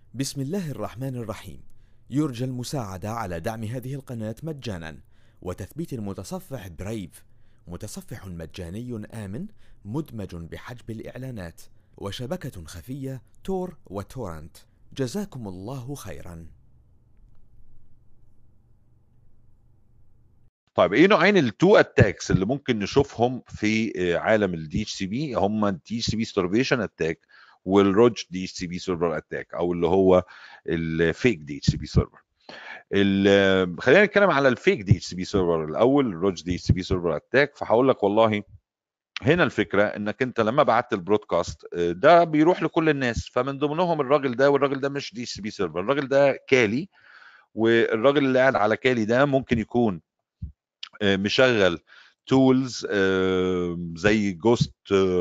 بسم الله الرحمن الرحيم. يرجى المساعدة على دعم هذه القناة مجانا وتثبيت المتصفح برايف، متصفح مجاني آمن مدمج بحجب الإعلانات وشبكة خفية تور وتورنت. جزاكم الله خيرا. طيب ايه نوعين التو اتاكس اللي ممكن نشوفهم في عالم الدي اتش سي بي؟ هم الدي اتش سي بي ستارفيشن اتاك والروج دي اتش سي بي سيرفر اتاك، او اللي هو الفيك دي اتش سي بي سيرفر. خلينا نتكلم على الفيك دي اتش سي بي سيرفر الاول، الروج دي اتش سي بي سيرفر اتاك. فهقول لك والله هنا الفكره انك انت لما بعت البرودكاست ده بيروح لكل الناس، فمن ضمنهم الراجل ده، والراجل ده مش دي اتش سي بي سيرفر، الراجل ده كالي. والراجل اللي قاعد على كالي ده ممكن يكون مشغل تولز زي جوست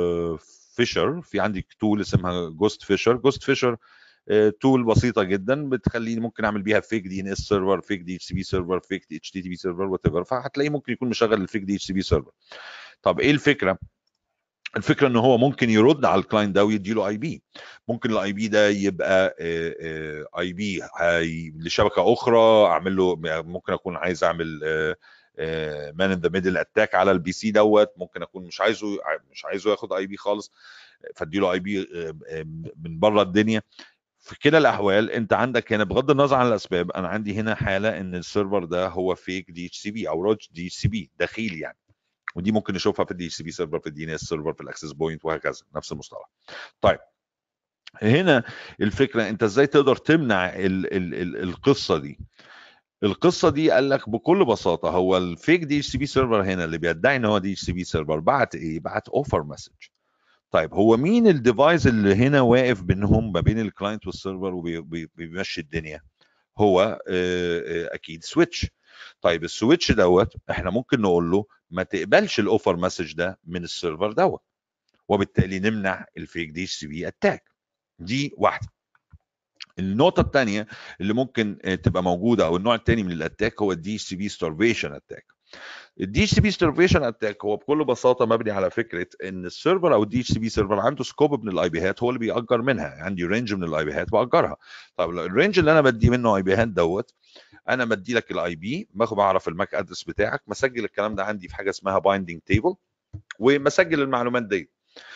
فيشر. في عندي تول اسمها جوست فيشر. جوست فيشر تول بسيطه جدا بتخليني ممكن اعمل بيها فيك دي ان اس سيرفر، فيك دي اتش سي بي سيرفر، فيك اتش تي تي بي سيرفر، وات ايفر. فهتلاقيه ممكن يكون مشغل الفيك دي اتش سي بي سيرفر. طب ايه الفكره؟ الفكره ان هو ممكن يرد على الكلاينت ده ويدي له اي بي. ممكن الاي بي ده يبقى اي بي لشبكه اخرى. اعمل له، ممكن اكون عايز اعمل مان ان ذا ميدل اتاك على البي سي دوت. ممكن اكون مش عايزه ياخد اي بي خالص، فادي له اي بي من بره الدنيا. في كلا الاحوال انت عندك هنا، بغض النظر عن الاسباب، انا عندي هنا حاله ان السيرفر ده هو فيك دي اتش سي بي او روج دي اتش سي بي دخيل يعني. ودي ممكن نشوفها في الدي اتش سي بي سيرفر، في الدي ان اس سيرفر، في الاكسس بوينت، وهكذا نفس المصطلح. طيب هنا الفكره انت ازاي تقدر تمنع ال القصه دي. القصه دي قال لك بكل بساطه، هو الفيك دي اتش سي بي سيرفر هنا اللي بيدعي ان هو دي اتش سي بي سيرفر بعت ايه؟ بعت اوفر مسج. طيب هو مين الديفايس اللي هنا واقف بينهم ما بين الكلاينت والسيرفر وبيمشي الدنيا؟ هو اكيد سويتش. طيب السويتش دوت احنا ممكن نقول له ما تقبلش الاوفر مسج ده من السيرفر دوت، وبالتالي نمنع الفيك دي اتش سي بي اتاك. دي واحده. النقطه الثانيه اللي ممكن تبقى موجوده، او النوع الثاني من الاتاك، هو الدي اتش سي بي ستارفيشن اتاك. الدي اتش سي بي ستارفيشن اتاك هو بكل بساطه مبني على فكره ان السيرفر او الدي اتش سي بي سيرفر عنده سكوب من الاي بيهات هو اللي بيأجر منها. عندي رينج من الاي بيهات بأجرها. طب الرينج اللي انا بدي منه اي بيهات دوت، انا بدي لك الاي بي، بعرف الماك ادرس بتاعك، مسجل الكلام ده عندي في حاجه اسمها بايندينج تيبل، ومسجل المعلومات دي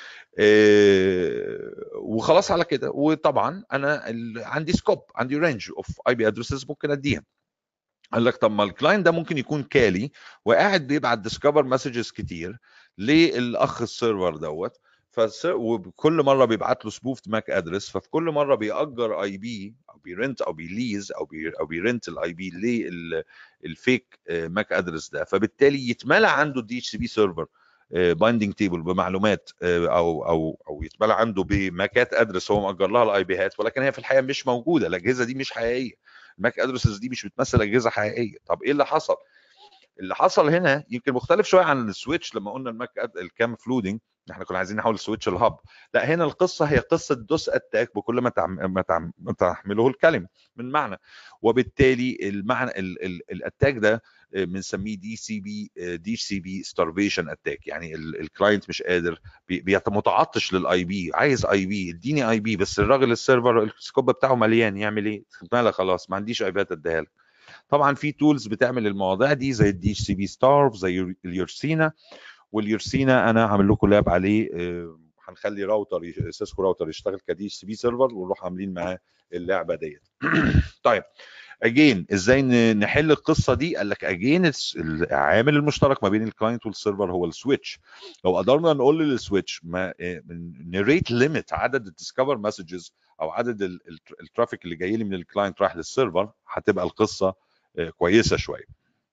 وخلاص على كده. وطبعا انا عندي سكوب، عندي رينج اوف اي بي ادرسز ممكن اديها. قال لك طب ما الكلاينت ده ممكن يكون كالي وقاعد بيبعت ديسكفر مسجز كتير للاخ السيرفر دوت، وكل مره بيبعت له سبوفت ماك ادرس، ففي كل مره بيأجر اي بي او بيرنت او بيليز او بيرنت الاي بي للفيك ماك ادرس ده. فبالتالي يتملى عنده الدي اتش سي بي سيرفر بايندينج تيبل بمعلومات، او يتملى عنده بماكات ادرس هو مأجر لها الاي بيهات، ولكن هي في الحقيقه مش موجوده. الاجهزه دي مش حقيقيه، الماك ادرسز دي مش بتمثل اجهزه حقيقيه. طب ايه اللي حصل؟ اللي حصل هنا يمكن مختلف شويه عن السويتش. لما قلنا الكام فلودنج احنا كنا عايزين نحول السويتش الهب، لا هنا القصه هي قصه دوس اتاك بكل ما تحمله الكلمه من معنى. وبالتالي المعنى الاتاك ده بنسميه دي سي بي ستارفيشن اتاك. يعني الكلاينت مش قادر، متعطش للاي بي، عايز اي بي، اديني اي بي، بس الراجل السيرفر السكوب بتاعه مليان، يعمل ايه؟ مالك خلاص ما عنديش اي بيات اديها لك. طبعا في تولز بتعمل المواضيع دي زي الدي اتش سي بي ستارف، زي اليورسينا. واليورسينا انا هعمل لكم لاب عليه، هنخلي سيسكو راوتر يشتغل كدي اتش سي بي سيرفر، ونروح عاملين معاه اللعبه ديت. طيب اجين ازاي نحل القصه دي؟ قال لك اجين العامل المشترك ما بين الكلاينت والسيرفر هو السويتش. لو قدرنا نقول للسويتش ما نريت ليميت عدد الديسكفر مسجز او عدد الترافيك اللي جاي لي من الكلاينت رايح للسيرفر، هتبقى القصه كويسه شويه.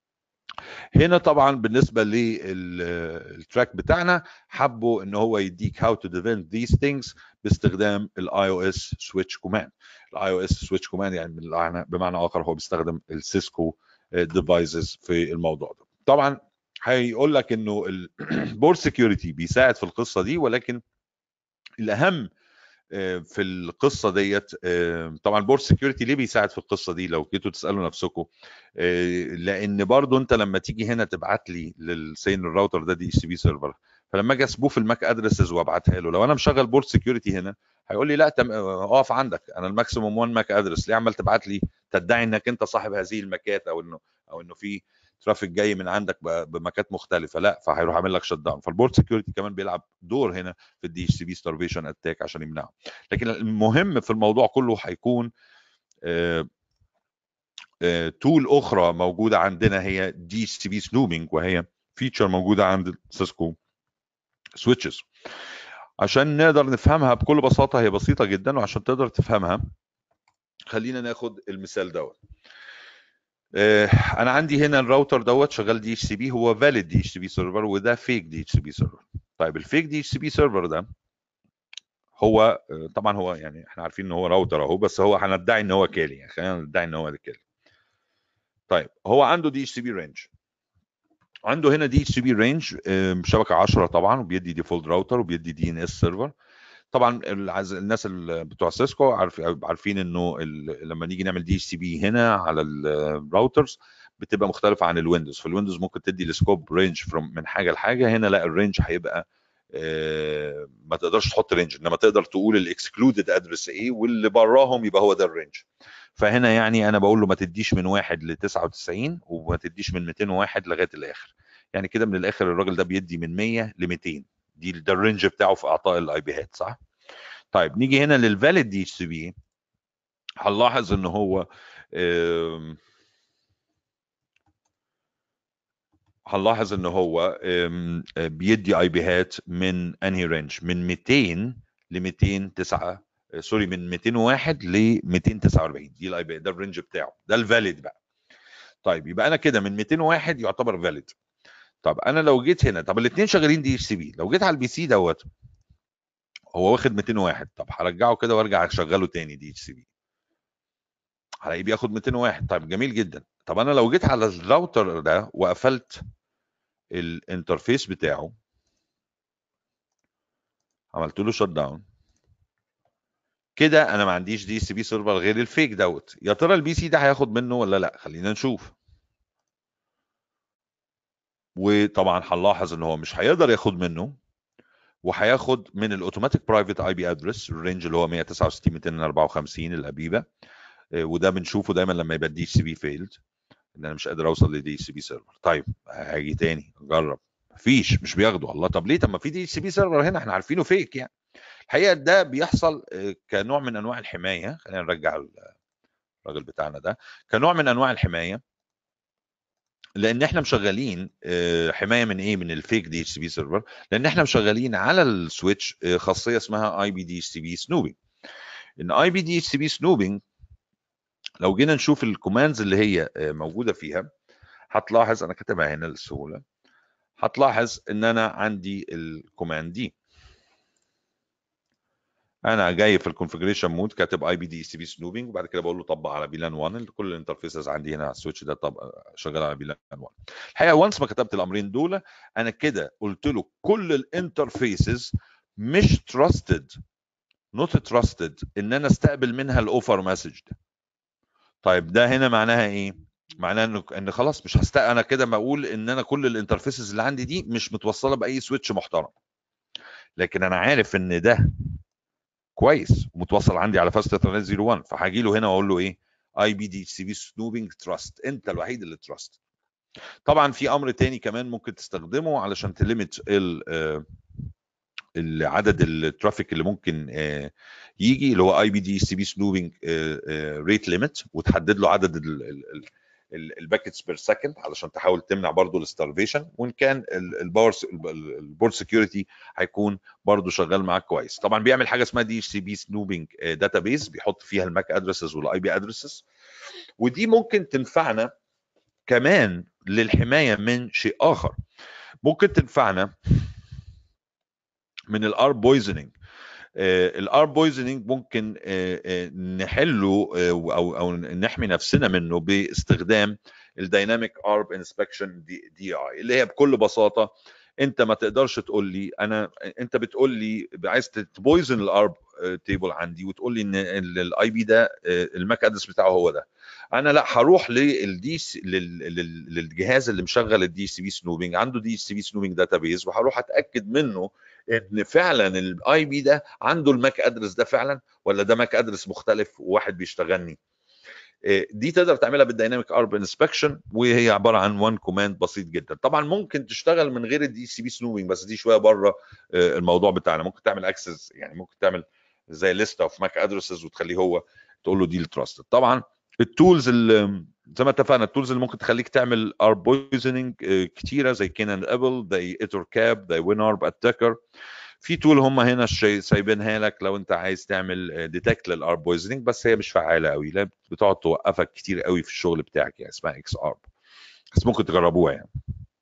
هنا طبعا بالنسبه للتراك بتاعنا حبوا ان هو يديك how to prevent these things باستخدام الاي او اس سويتش كوماند. الاي او اس سويتش كوماند يعني بمعنى اخر هو بيستخدم السيسكو ديفايسز في الموضوع ده. طبعا هيقول لك انه البورد سكيورتي بيساعد في القصه دي، ولكن الاهم في القصه ديت طبعا بورد سكيورتي ليه بيساعد في القصه دي لو جيتوا تسالوا نفسكم؟ لان برضو انت لما تيجي هنا تبعت لي للسين الراوتر ده دي اتش سي بي سيرفر فلما اجي اسبوف الماك ادرسز وابعتها له، لو انا مشغل بورت سكيورتي هنا هيقول لي لا اقف عندك، انا الماكسيموم 1 ماك ادرس، ليه عمال تبعت لي تدعي انك انت صاحب هذه الماكات، او انه في ترافيك جاي من عندك بماكات مختلفه؟ لا، فهيروح عامل لك شت داون. فالبورت سكيورتي كمان بيلعب دور هنا في الدي اتش سي بي ستارفيشن اتاك عشان يمنعه. لكن المهم في الموضوع كله هيكون تول اخرى موجوده عندنا هي دي اتش سي بي سنوبينج، وهي فيتشر موجوده عند سيسكو سويتشز. عشان نقدر نفهمها بكل بساطه، هي بسيطه جدا، وعشان تقدر تفهمها خلينا ناخد المثال دوت. انا عندي هنا الراوتر دوت شغال دي اتش سي بي، هو فاليد دي اتش سي بي سيرفر، وده فيك دي اتش سي بي سيرفر. طيب الفيك دي اتش سي بي سيرفر ده هو طبعا هو يعني احنا عارفين ان هو راوتر اهو، بس هو هندعي ان هو كالي، يعني خلينا ندعي ان هو كالي. طيب هو عنده دي اتش سي بي رينج، عنده هنا دي اتش سي بي رينج شبكه 10 طبعا، وبيدي ديفولت راوتر، وبيدي دي ان اس سيرفر. طبعا الناس بتوع سيسكو عارفين انه لما نيجي نعمل دي اتش سي بي هنا على الراوترز بتبقى مختلفه عن الويندوز. في الويندوز ممكن تدي السكوب رينج من حاجه لحاجه، هنا لا، الرينج هيبقى ما تقدرش تحط رينج، انما تقدر تقول الاكسكلودد ادرس ايه، واللي براهم يبقى هو ده الرينج. فهنا يعني انا بقول له ما تديش من 1 ل 99، وما تديش من 201 لغايه الاخر. يعني كده من الاخر الراجل ده بيدي من 100 ل 200، ده الرينج بتاعه في اعطاء الاي بي هات، صح؟ طيب نيجي هنا للفاليد دي اتش سي بي، هنلاحظ ان هو بيدي اي بي هات من انهي رينج؟ من 200 ل 209، سوري، من 201 ل 249. دي الاي بي، ده الرينج بتاعه، ده الفاليد بقى. طيب يبقى انا كده من 201 يعتبر فاليد. طب انا لو جيت هنا، طب الاثنين شغالين دي اتش سي بي، لو جيت على البي سي دوت هو واخد 201، طب هرجعه كده وارجع اشغله تاني دي اتش سي بي، هلاقيه بياخد 201. طيب جميل جدا. طب انا لو جيت على الراوتر ده وقفلت الانترفيس بتاعه، عملت له شت داون، كده انا ما عنديش دي سي بي سيرفر غير الفيك دوت. يا ترى البي سي ده هياخد منه ولا لا؟ خلينا نشوف. وطبعا هنلاحظ ان هو مش هيقدر ياخد منه، وهياخد من الاوتوماتيك برايفت اي بي ادرس الرينج اللي هو 169 254 الابيبه. وده بنشوفه دايما لما يبقى الدي سي بي فيلد، ان انا مش قادر اوصل لدي سي بي سيرفر. طيب هاجي تاني اجرب، مفيش، مش بياخده. الله، طب ليه؟ طب ما في دي سي بي سيرفر هنا احنا عارفينه فيك يعني. الحقيقه ده بيحصل كنوع من انواع الحمايه. خلينا نرجع الراجل بتاعنا ده كنوع من انواع الحمايه، لان احنا مشغلين حمايه من ايه؟ من الفيك دي اتش سي بي سيرفر، لان احنا مشغلين على السويتش خاصيه اسمها اي بي دي اتش سي بي سنوبينج. ان اي بي دي اتش سي بي سنوبينج لو جينا نشوف الكوماندز اللي هي موجوده فيها، هتلاحظ انا كاتبها هنا للسهوله، هتلاحظ ان انا عندي الكوماند دي، انا جاي في الكونفجريشن مود كاتب اي بي دي سي بي سنوبينج، وبعد كده بقول له طبق على بيلان 1. كل الانترفيسز عندي هنا على السويتش ده شغال على بيلان 1. الحقيقه وانس ما كتبت الامرين دول، انا كده قلت له كل الانترفيسز مش تراستد، نوت تراستد ان انا استقبل منها الاوفر مسج ده. طيب ده هنا معناها ايه؟ معناها ان خلاص مش انا كده بقول ان انا كل الانترفيسز اللي عندي دي مش متوصله باي سويتش محترم. لكن انا عارف ان ده كويس ومتوصل عندي على فاست ايثرنت 01، فهاجي له هنا واقول له ايه؟ اي بي دي سي بي سنوبينج تراست، انت الوحيد اللي تراست. طبعا في امر تاني كمان ممكن تستخدمه علشان تليمت عدد الترافيك اللي ممكن يجي، اللي هو اي بي دي سي بي سنوبينج ريت ليميت، وتحدد له عدد الباكيتس بير سكند علشان تحاول تمنع برضو الستارفيشن. وان كان البورد سكيورتي هيكون برضو شغال معاك كويس. طبعا بيعمل حاجه اسمها دي سي بي سنوبينج داتابيز، بيحط فيها الماك ادرسز والاي بي ادرسز، ودي ممكن تنفعنا كمان للحمايه من شيء اخر. ممكن تنفعنا من الار بويزنينج. الار بويزنينج ممكن نحله او نحمي نفسنا منه باستخدام الدايناميك ارب انسبكشن دي اي، اللي هي بكل بساطه انت ما تقدرش تقول لي انت بتقول لي عايز تبويزن الارب تيبل عندي وتقول لي ان الاي بي ده الماك ادرس بتاعه هو ده، انا لا هروح للجهاز اللي مشغل الدي سي بي سنوبنج، عنده دي سي بي سنوبنج داتابيز، وهروح اتاكد منه ان فعلا الاي بي ده عنده الماك ادرس ده فعلا، ولا ده ماك ادرس مختلف وواحد بيشتغلني. دي تقدر تعملها بالدايناميك ارب انسبكشن، وهي عباره عن وان كوماند بسيط جدا. طبعا ممكن تشتغل من غير الدي سي بي سنوبنج، بس دي شويه بره الموضوع بتاعنا. ممكن تعمل اكسس، يعني ممكن تعمل زي ليست اوف ماك ادرسز وتخليه هو تقول له دي التراستد. طبعا التولز اللي زي ما اتفقنا، التولز اللي ممكن تخليك تعمل ارب بويزنينج كتيره زي كينان ابل، زي ايتور كاب، زي وين ارب اتاكر. في تول هم هنا سايبينها لك لو انت عايز تعمل ديتكت للارب بويزنينج، بس هي مش فعاله قوي، لا بتقعد توقفك كتير قوي في الشغل بتاعك، يعني اسمها اكس ارب، بس ممكن تجربوها يعني.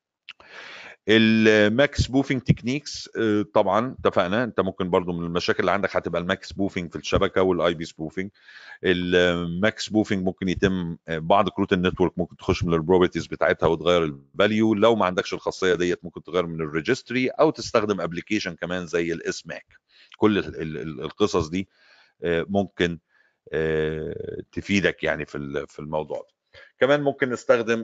الماك سبوفينج تكنيكس طبعا اتفقنا، انت ممكن برضو من المشاكل اللي عندك هتبقى الماك سبوفينج في الشبكه والاي بي سبوفينج. الماك سبوفينج ممكن يتم بعض كروت النتورك، ممكن تخش من البروبرتيز بتاعتها وتغير الفاليو. لو ما عندكش الخاصيه ديت ممكن تغير من الريجستري، او تستخدم ابلكيشن كمان زي الاس ماك. كل القصص دي ممكن تفيدك يعني في الموضوع ده. كمان ممكن نستخدم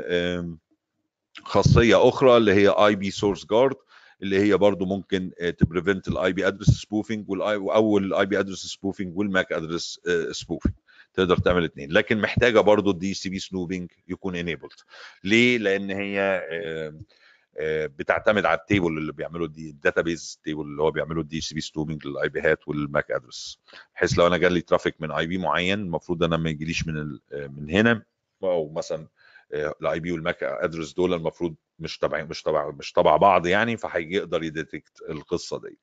خاصيه اخرى اللي هي اي بي سورس جارد، اللي هي برضو ممكن تبريفنت الاي بي ادرس سبوفينج او الاي بي ادرس سبوفينج والماك ادرس سبوفينج. تقدر تعمل الاثنين، لكن محتاجه برضو الدي سي بي سنوبينج يكون انيبلد. ليه؟ لان هي بتعتمد على التيبل اللي بيعمله الداتابيز تيبل اللي هو بيعمله الدي سي بي سنوبينج للاي بي هات والماك ادرس، بحيث لو انا جالي ترافيك من اي بي معين المفروض انا ما يجيليش من هنا، او مثلا الاي بي والماك ادرس دول المفروض مش تبع بعض يعني، فهيقدر يديتكت القصه دي.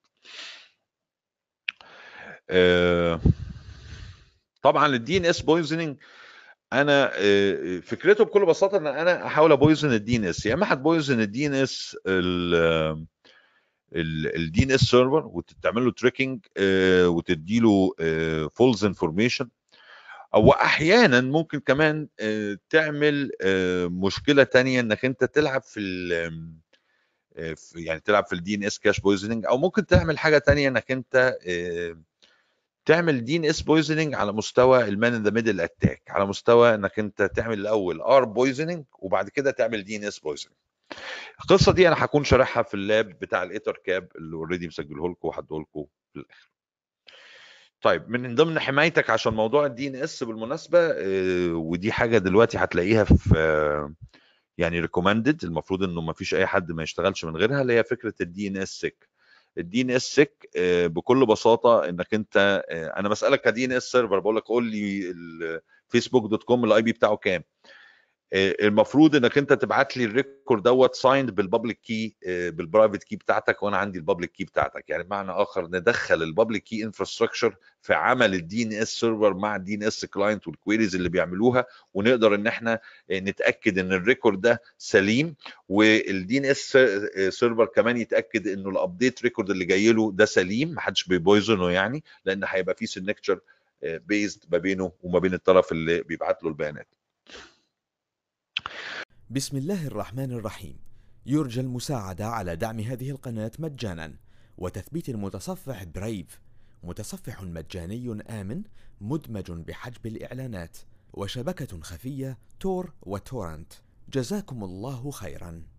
طبعا الدي ان اس بويزنينج انا فكرته بكل بساطه ان انا احاول ابويزن الدي ان اس. يا اما هتبويزن الدي ان اس الدي ان اس سيرفر وتعمل له تريكنج وتدي له فولز انفورميشن، او احيانا ممكن كمان تعمل مشكله تانية انك انت تلعب يعني تلعب في الدي ان اس كاش بويزنينج، او ممكن تعمل حاجه تانية انك انت تعمل دي ان اس بويزنينج على مستوى المان ان ذا ميدل اتاك، على مستوى انك انت تعمل الاول ار بويزنينج وبعد كده تعمل دي ان اس بويزنينج. القصه دي انا هكون شارحها في اللاب بتاع الايتر كاب اللي اوريدي مسجله لكم وهديه لكم في الاخر. طيب من ضمن حمايتك عشان موضوع الدي ان اس بالمناسبه، ودي حاجه دلوقتي هتلاقيها في يعني ريكومندد، المفروض انه ما فيش اي حد ما يشتغلش من غيرها، اللي هي فكره الدي ان اس سيك. الدي ان اس سيك بكل بساطه انك انت انا بسالك كدي ان اس سيرفر، بقول لك قول لي الفيسبوك دوت كوم الاي بي بتاعه كام. المفروض انك انت تبعت لي الريكورد دوت سايند بالبابليك كي بالبرايفت كي بتاعتك، وانا عندي البابليك كي بتاعتك. يعني بمعنى اخر ندخل البابليك كي انفراستراكشر في عمل الدي ان اس سيرفر مع الدي ان اس كلاينت والكويريز اللي بيعملوها، ونقدر ان احنا نتاكد ان الريكورد ده سليم، والدي ان اس سيرفر كمان يتاكد انه الابديت ريكورد اللي جاي له ده سليم، محدش بيبويزنه يعني، لان هيبقى في سيجنتشر بيزد ما بينه وما بين الطرف اللي بيبعت له البيانات. بسم الله الرحمن الرحيم. يرجى المساعدة على دعم هذه القناة مجانا وتثبيت المتصفح برايف، متصفح مجاني آمن مدمج بحجب الإعلانات، وشبكة خفية تور وتورنت. جزاكم الله خيرا.